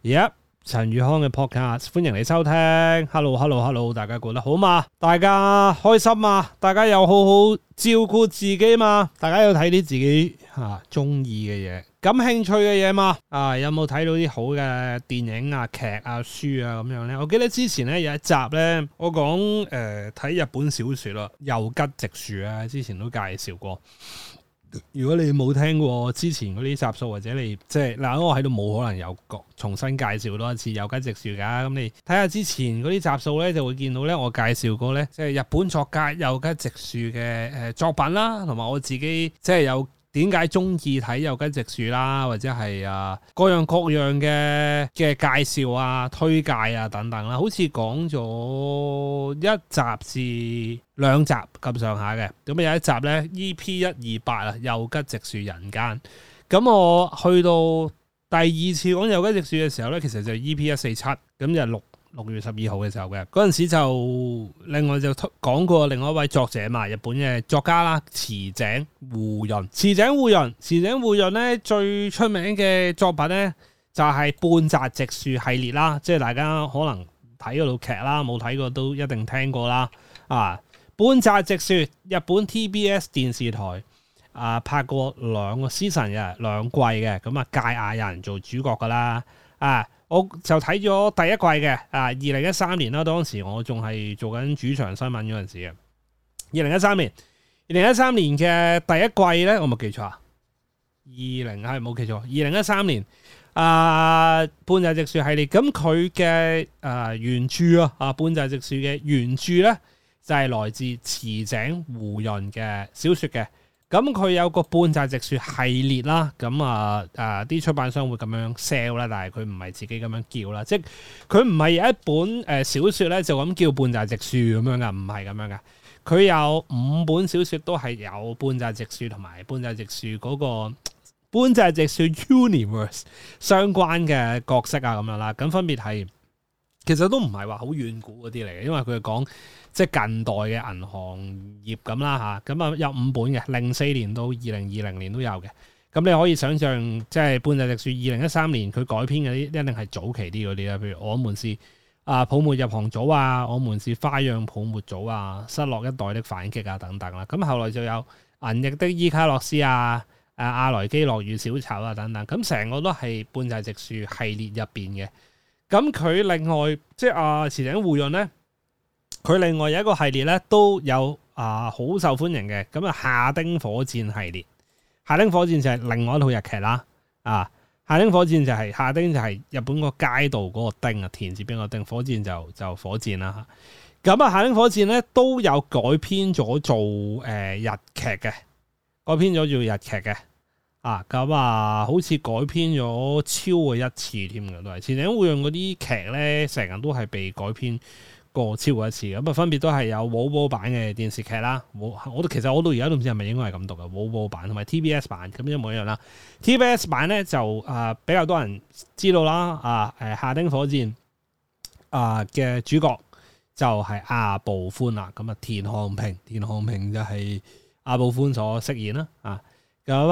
Yep， 陳宇康嘅 podcast， 歡迎你收聽。Hello， 大家過得好嘛？大家開心嘛？大家有好好照顧自己嘛？大家有睇啲自己中意嘅嘢、感興趣嘅嘢嘛？有冇睇到啲好嘅電影啊、劇啊、書啊咁樣咧？我記得之前咧有一集咧，我講睇日本小說啦，又吉直樹啊，之前都介紹過。如果你冇聽過之前嗰啲集數，或者你即係嗱，我喺度冇可能有重新介紹多一次有吉直樹噶。咁你睇下之前嗰啲集數咧，就會見到咧，我介紹過咧，即係日本作家有吉直樹嘅作品啦，同埋我自己即係有點解中意睇有吉直樹啦，或者係各樣各樣嘅介紹啊、推介啊等等啦，好似講咗一集至兩集咁上下嘅。咁有一集咧 EP128啊，有吉直樹人間。咁我去到第二次講有吉直樹嘅時候咧，其實就 EP147，咁就6月12號嘅時候嘅。嗰陣時就另外就講過另外一位作者嘛，日本嘅作家啦，池井戶潤。池井戶潤咧最出名嘅作品咧就係半澤直樹系列啦，即係大家可能睇嗰套劇啦，冇睇過都一定聽過啦。半澤直樹日本 TBS 電視台拍過2個 season 嘅2季嘅，咁芥雅人做主角噶啦。我就睇咗第一季嘅2013年啦，當時我仲係做緊主場新聞嗰陣時嘅。2013年嘅第一季咧，我冇記錯啊，冇記錯，2013年半澤直樹系列，咁佢嘅原著半澤直樹嘅原著咧就係來自池井戶潤嘅小說嘅。咁佢有個半澤直樹系列啦，咁啲出版商會咁樣 sell 啦，但係佢唔係自己咁樣叫啦，即係佢唔係有一本小說咧就咁叫半澤直樹咁樣噶，唔係咁樣噶。佢有5本小說都係有半澤直樹同埋半澤直樹嗰個半澤直樹 universe 相關嘅角色啊咁樣啦，咁分別係其實都唔係話好遠古嗰啲嚟嘅，因為佢係講即係近代嘅銀行業咁啦嚇，咁有5本嘅，04年到2020年都有嘅。咁你可以想象，即係半澤直樹2013年佢改編嗰啲一定係早期啲嗰啲啦，譬如我們是泡沫入行組啊，我們是花樣泡沫組啊，失落一代的反擊啊等等啦。咁後來就有銀翼的伊卡洛斯啊、阿萊基諾與小丑啊等等，咁成個都係半澤直樹系列入邊嘅。咁佢另外即係池井戶潤咧，佢另外有一個系列咧都有好受歡迎嘅，咁夏丁火箭系列。夏丁火箭就係另外一套日劇啦。夏丁火箭就係夏丁就係日本個街道嗰個丁啊，田字邊個丁，火箭就火箭啦。咁夏丁火箭咧都有改編咗做日劇嘅，改編咗做日劇嘅。好似改編咗超過1次添嘅，都係池井戶潤嗰啲劇咧，成日都係被改編過超過1次。咁比都係有寶寶版嘅電視劇啦。其實我到而家都唔知係咪應該係咁讀嘅，寶寶版同埋 TBS 版咁一模一樣啦。TBS 版咧就比較多人知道啦。夏丁火箭嘅主角就係阿部寬啦。咁田航平就係阿部寬所飾演啦。咁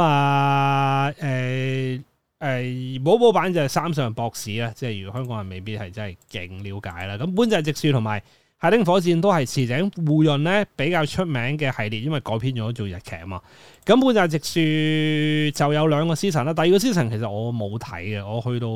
寶寶版就係三上博士啦，即係如果香港人未必係真係勁了解啦。咁半澤直樹同埋夏丁火箭都係池井戶潤咧比較出名嘅系列，因為改編咗做日劇啊嘛。咁半澤直樹就有2個 season 啦，第2個 season 其實我冇睇嘅，我去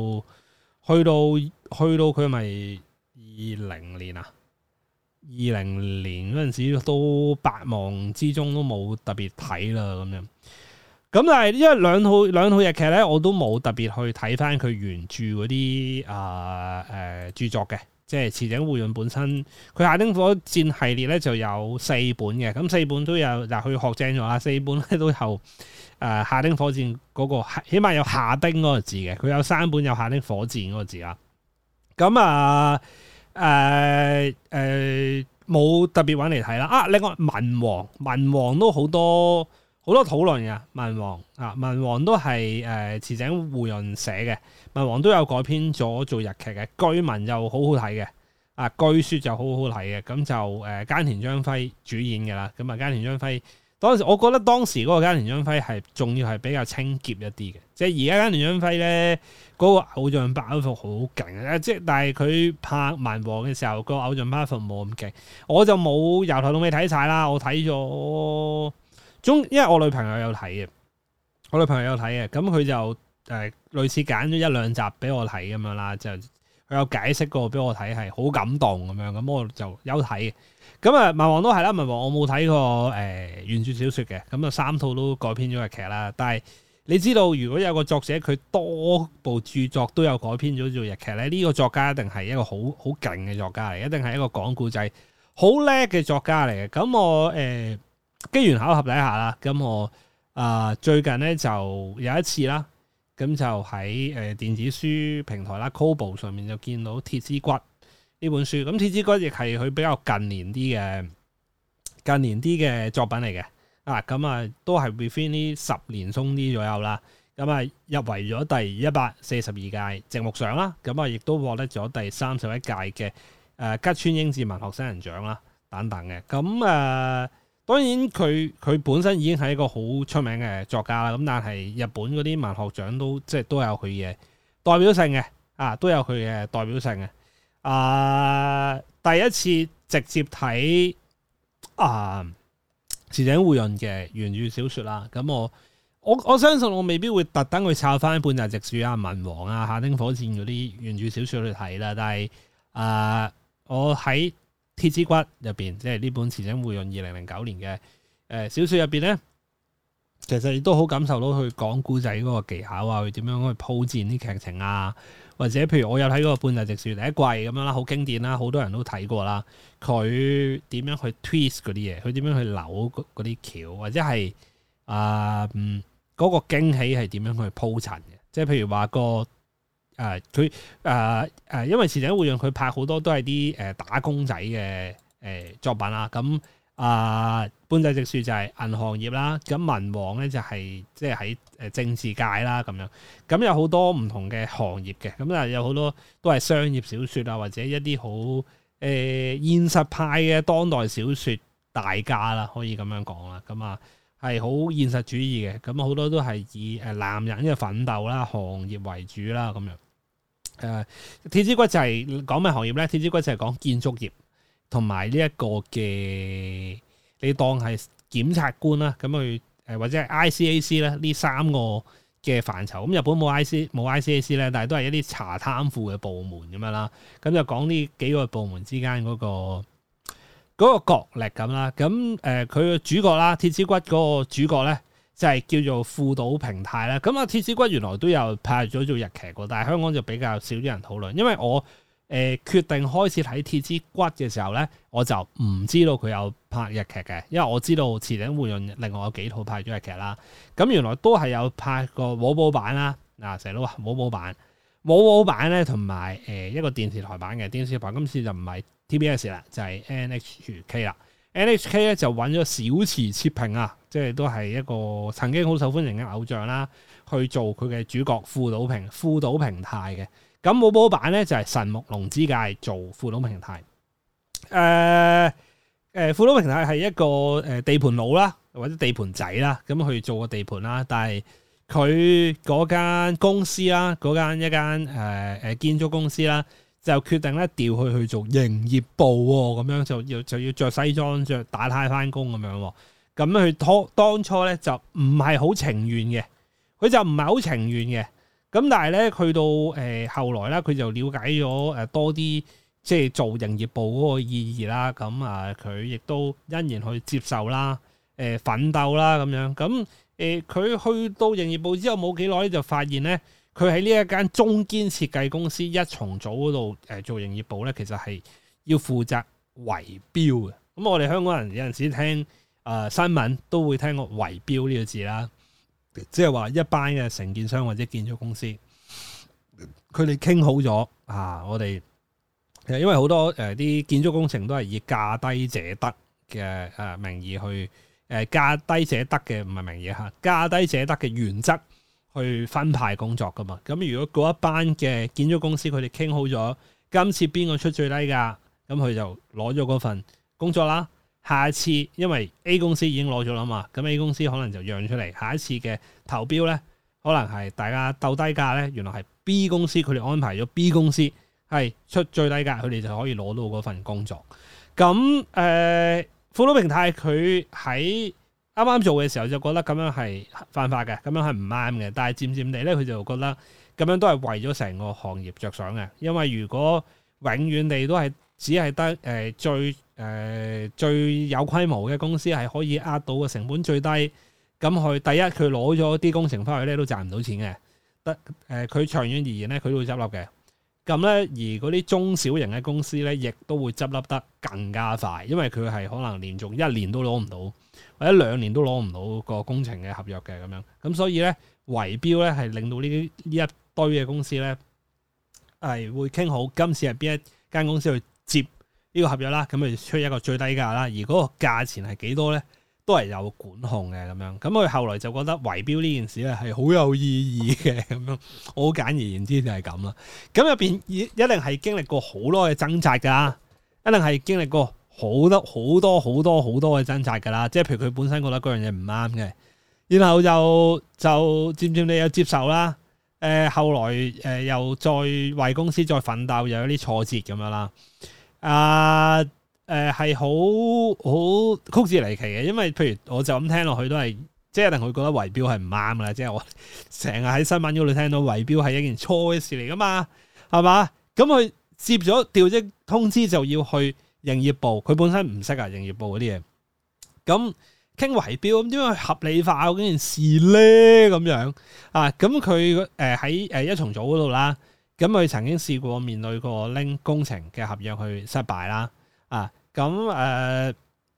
到佢咪20年啊，20年嗰陣時都百忙之中都冇特別睇啦咁樣。咁但係因為兩套日劇咧，我都冇特別去睇翻佢原著嗰啲著作嘅，即係池井戶潤本身佢夏丁火箭系列咧就有4本嘅，咁4本都有嗱，佢學正咗啦，4本咧都有夏丁火箭嗰個，起碼有夏丁嗰個字嘅，佢有3本有夏丁火箭嗰個字啦。咁冇特別揾嚟睇啦。另外文王都好多討論嘅。文王都係池井戶潤寫嘅，文王都有改編咗做日劇嘅，據聞又好好睇嘅。據說就好好睇嘅，咁就菅田將暉主演嘅啦。咁菅田將暉當時，我覺得當時嗰個菅田將暉係仲要係比較清潔一啲嘅， 即係而家間聯張輝咧嗰個偶像包袱好勁啊！即係但係佢拍文王嘅時候個偶像包袱冇咁勁，我就冇由頭到尾睇晒啦。我睇咗因為我女朋友有睇嘅，咁佢就類似揀咗一兩集俾我睇咁樣啦，就佢有解釋過俾我睇，係好感動咁樣，咁我就有睇嘅。咁啊，文王都係啦，文王我冇睇過原著小説嘅，咁啊3套都改編咗日劇啦。但係你知道，如果有個作者佢多部著作都有改編咗做日劇咧，呢個作家一定係一個好勁嘅作家嚟，一定係一個講故仔好叻嘅作家嚟嘅。咁我機緣巧合底下啦，咁我最近咧就有一次啦，咁就喺電子書平台啦 Kobo 上面就見到《鐵之骨》呢本書。咁《鐵之骨》亦係佢比較近年啲嘅作品嚟嘅。咁啊都係 within 呢10年鬆啲左右啦。咁啊入圍咗第142屆直木賞啦。咁啊亦都獲得咗第31屆嘅吉川英治文學新人獎啦等等嘅。咁當然佢本身已經係一個好出名嘅作家啦，咁但係日本嗰啲文學獎都有佢嘅代表性嘅，都有佢嘅代表性嘅。第一次直接睇池井戶潤嘅原著小說啦，咁我相信我未必會特登去抄翻半澤直樹啊、文王啊、夏町火箭嗰啲原著小說去睇啦，但係我喺鐵之骨入邊，即係呢本池井戶潤2009年嘅小說入邊咧，其實亦都好感受到佢講故仔嗰個技巧啊，佢點樣去鋪墊啲劇情啊，或者譬如我有睇過半澤直樹第一季咁樣啦，好經典啦，好多人都睇過啦。佢點樣去 twist 嗰啲嘢，佢點樣去扭嗰啲橋，或者係嗰個驚喜係點樣去鋪陳嘅？即係譬如話因為池井戶潤佢拍好多都係啲打工仔嘅作品啦，咁半澤直樹就係銀行業啦，咁文王咧就係即係喺政治界啦咁樣，咁有好多唔同嘅行業嘅，咁有好多都係商業小說啊，或者一啲好現實派嘅當代小說大家啦，可以咁樣講啦，咁係好現實主義嘅，咁好多都係以男人嘅奮鬥啦、行業為主啦咁樣。鐵之骨就係講咩行業咧？鐵之骨就係講建築業同埋呢一個嘅，你當係檢察官啦，咁去或者係 ICAC 咧呢3個嘅範疇。咁日本冇 ICAC 咧，但係都係一啲查貪腐嘅部門咁樣啦。咁就講呢幾個部門之間嗰個角力咁啦。咁佢嘅主角啦，鐵之骨嗰個主角咧，就係叫做富島平太啦，咁鐵之骨原來都有拍咗做日劇嘅，但係香港就比較少啲人討論。因為我決定開始睇鐵之骨嘅時候咧，我就唔知道佢有拍日劇嘅，因為我知道池井戶潤另外有幾套拍咗日劇啦。咁原來都係有拍過舞寶版啦，成日都話舞寶版咧，同埋一個電視台版嘅電視台，今次就唔係 TBS 啦，就係 NHK 啦。NHK 咧就揾咗小池徹平啊，即係都係一個曾經好受歡迎嘅偶像啦，去做佢嘅主角富島平太嘅。咁舞寶版咧就係神木隆之介做富島平太。富島平太係一個地盤佬啦，或者地盤仔啦，咁去做個地盤啦。但係佢嗰間公司啦，一間建築公司啦，就決定咧調佢去做營業部喎，咁樣就要着西裝着打呔翻工咁樣。咁佢當初咧就唔係好情願嘅，咁但係咧去到後來咧，佢就了解咗多啲即係做營業部嗰個意義啦。咁佢亦都欣然去接受啦，奮鬥啦咁樣。咁佢去到營業部之後冇幾耐咧，就發現咧，佢喺呢一間中堅設計公司一重組嗰度做營業部咧，其實係要負責圍標嘅。咁我哋香港人有陣時聽新聞都會聽過圍標呢個字啦，即係話一班嘅承建商或者建築公司，佢哋傾好咗我哋因為好多啲建築工程都係以價低者得嘅名義去價低者得嘅，唔係名義嚇，價低者得嘅原則去分派工作噶嘛。咁如果嗰一班嘅建築公司佢哋傾好咗，今次邊個出最低價，咁佢就攞咗嗰份工作啦。下一次因為 A 公司已經攞咗啦嘛，咁 A 公司可能就讓出嚟，下一次嘅投標咧，可可能係大家鬥低價咧，原來係 B 公司佢哋安排咗 B 公司係出最低價，佢哋就可以攞到嗰份工作。咁富島平太佢喺啱啱做嘅時候就覺得咁樣係犯法嘅，咁樣係唔啱嘅。但係漸漸地咧，佢就覺得咁樣都係為咗成個行業着想嘅。因為如果永遠地都係只係得最有規模嘅公司係可以壓到個成本最低，咁佢第一佢攞咗啲工程翻去咧都賺唔到錢嘅。佢長遠而言咧，佢都會執笠嘅。咁咧，而嗰啲中小型嘅公司咧，亦都會執笠得更加快，因為佢係可能連續1年都攞唔到，或者2年都攞唔到個工程嘅合約嘅咁樣。咁所以咧，圍標咧係令到呢一堆嘅公司咧係會傾好今次係邊一間公司去接呢個合約啦，咁佢出一個最低價啦，而嗰個價錢係幾多咧？都係有管控嘅咁樣，咁佢後來就覺得圍標呢件事咧係好有意義嘅咁樣，我好簡而言之就係咁啦。咁入邊一定係經歷過好多嘅掙扎㗎，一定係經歷過好多嘅掙扎㗎啦。即係譬如佢本身覺得嗰樣嘢唔啱嘅，然後就漸漸地有接受啦。後來又再為公司再奮鬥，又有啲挫折咁樣啦。係好曲折離奇嘅，因為譬如我就咁聽落去都係，即係一定會覺得圍標係唔啱啦。即係我成日喺新聞嗰度聽到圍標係一件錯嘅事嚟噶嘛，係嘛？咁佢接咗調職通知就要去營業部，佢本身唔識啊營業部嗰啲嘢。咁傾圍標咁點樣去合理化嗰件事咧？咁樣啊？咁佢喺一重組嗰度啦，咁佢曾經試過面對過拎工程嘅合約去失敗啦，啊！咁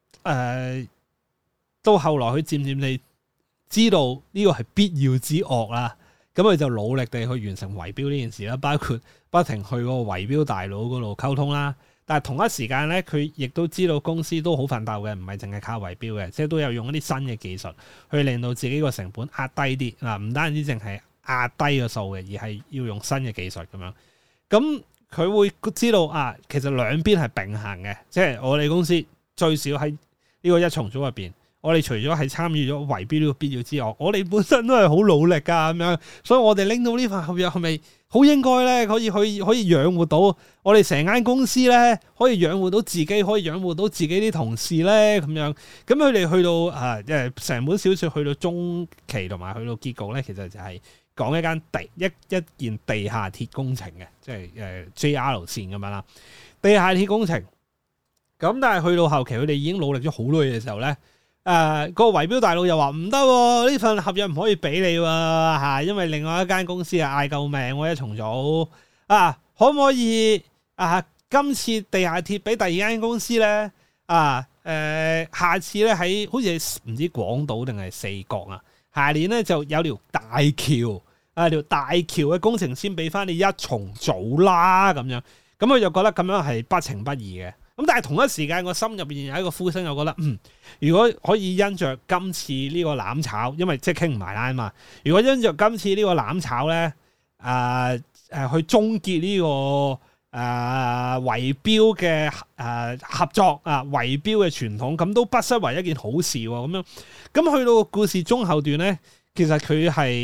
到後來佢漸漸地知道呢個係必要之惡啦，咁佢就努力地去完成圍標呢件事啦，包括不停去個圍標大佬嗰度溝通啦。但係同一時間咧，佢亦都知道公司都好奮鬥嘅，唔係淨係靠圍標嘅，即係都有用一啲新嘅技術去令到自己個成本壓低啲嗱，唔單止淨係壓低個數嘅，而係要用新嘅技術咁樣咁。佢會知道啊，其實兩邊係並行嘅，即係我哋公司最少喺呢個一重組入邊，我哋除咗係參與咗圍標呢個必要之外，我哋本身都係好努力噶咁樣，所以我哋拎到呢份合約係咪好應該咧？可以養活到我哋成間公司咧，可以養活到自己，可以養活到自己啲同事咧咁樣。咁佢哋去到成本小說去到中期同埋去到結局咧，其實就係講一間一件地下鐵工程嘅，即係JR 線咁樣啦。地下鐵工程咁，但係去到後期，佢哋已經努力咗好耐嘅時候咧，個圍標大佬又話唔得，呢份合約唔可以俾你喎，因為另外一間公司嗌救命，我一重組可唔可以今次地下鐵俾第二間公司咧下次咧喺好似唔知廣島定係四國啊，下年咧就有條大橋。條大橋嘅工程先俾翻你一重組啦，咁樣，咁佢就覺得咁樣係不情不義嘅。咁但係同一時間，我心入邊有一個呼聲，就覺得如果可以因着今次呢個攬炒，因為即係傾唔埋啦嘛。如果因着今次呢個攬炒咧，去終結呢個圍標嘅合作圍標嘅傳統，咁都不失為一件好事喎。咁樣，咁去到個故事中後段咧，其實佢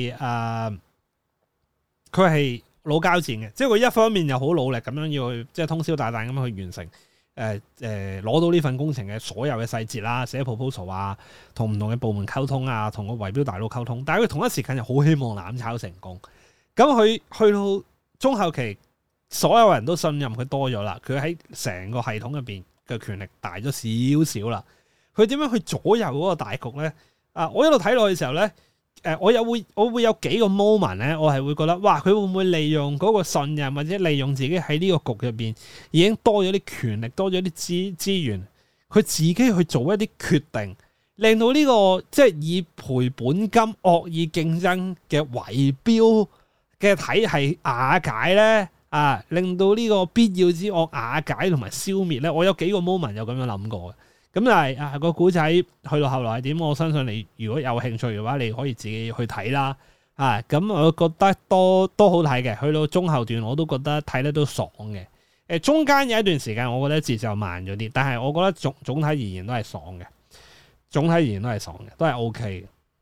係老交戰嘅，即係佢一方面又好努力咁樣要去，即係通宵達旦咁樣去完成，攞到呢份工程嘅所有嘅細節啦，寫 proposal 同唔同嘅部門溝通同個圍標大佬溝通，但係佢同一時間又好希望攬炒成功。咁佢去到中後期，所有人都信任佢多咗啦，佢喺成個系統入邊嘅權力大咗少少啦。佢點樣去左右嗰個大局咧？我一路睇落去嘅時候咧。我會有幾個 moment 咧，我係會覺得，哇！佢會唔會利用嗰個信任，或者利用自己喺呢個局入邊已經多咗啲權力，多咗啲資源，佢自己去做一啲決定，令到呢個即係以賠本金惡意競爭嘅圍標嘅體系瓦解咧，令到呢個必要之惡瓦解同埋消滅咧。我有幾個 moment 有咁樣諗過嘅。咁但係個古仔去到後來係點？我相信你如果有興趣嘅話，你可以自己去睇啦。咁我覺得都好睇嘅。去到中後段我都覺得睇得都爽嘅。中間有一段時間我覺得節奏慢咗啲，但係我覺得總體而言都係爽嘅。總體而言都係爽嘅，都係 OK 嘅。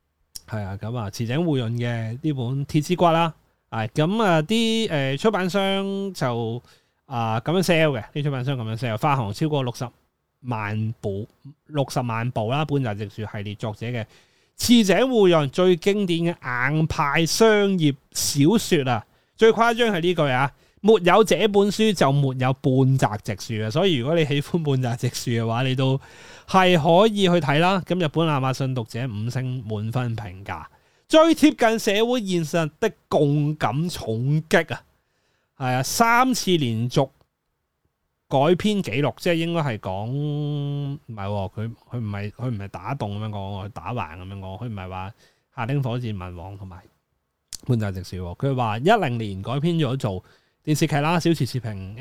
係啊，咁啊，池井戶潤嘅呢本《鐵之骨》啦，咁啊啲出版商就咁樣 sell 嘅，啲出版商咁樣 sell，發行超過60萬部啦，半澤直樹系列作者嘅池井戶潤最經典嘅硬派商業小說啊，最誇張係呢句啊，沒有這本書就沒有半澤直樹啊，所以如果你喜歡半澤直樹嘅話，你都係可以去睇啦。咁日本亞馬遜讀者5星滿分評價，最貼近社會現實的共感重擊啊，係啊，3次連續改編紀錄，即係應該係講唔係，佢唔係打動咁樣講，佢打橫咁樣講，佢唔係話下町火箭文王同埋半澤直樹，佢話10年改編咗做電視劇啦，小池徹平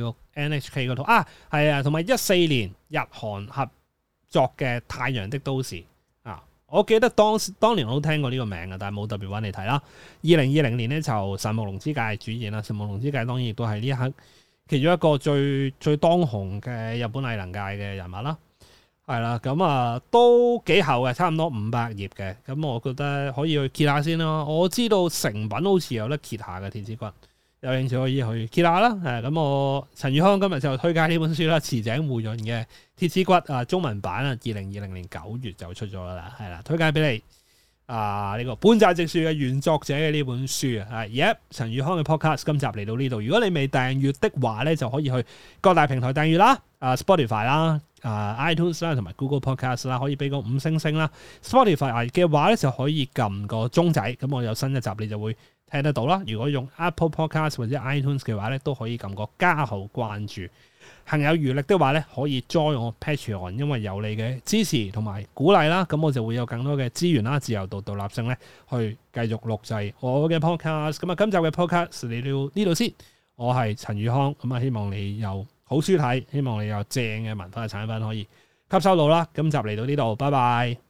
NHK 嗰套係啊，同埋14年日韓合作嘅《太陽的都市》啊，我記得當年我都聽過呢個名嘅，但係冇特別揾你睇啦。2020年咧就神木隆之介主演啦，神木隆之介當然亦都係呢一刻其中一個最當紅嘅日本藝能界嘅人物啦，係啦，咁啊都幾厚嘅，差唔多500頁嘅，咁我覺得可以去揭下先咯。我知道成品好似有得揭下嘅，鐵之骨，有興趣可以去揭下啦。咁我陳宇康今日就推介呢本書啦，池井戶潤嘅《鐵之骨》中文版啊，2020年9月就出咗啦，係啦，推介俾你。呢個半澤直樹嘅原作者嘅呢本書啊，陳宇康嘅 podcast 今集嚟到呢度，如果你未訂閱的話咧，就可以去各大平台訂閱啦，Spotify 啦、iTunes 啦同埋 Google Podcast 啦，可以俾個5星啦。Spotify 嘅話咧就可以撳個鐘仔，咁我有新一集你就會聽得到啦。如果用 Apple Podcast 或者 iTunes 嘅話咧，都可以撳個加號關注。行有餘力的話咧，可以 join 我 Patreon， 因為有你嘅支持同埋鼓勵啦，咁我就會有更多嘅資源啦、自由度、獨立性咧，去繼續錄製我嘅 podcast。咁啊，今集嘅 podcast 嚟到呢度先，我係陳宇康，咁啊，希望你有好書睇，希望你有正嘅文化產品可以吸收到啦。今集嚟到呢度，拜拜。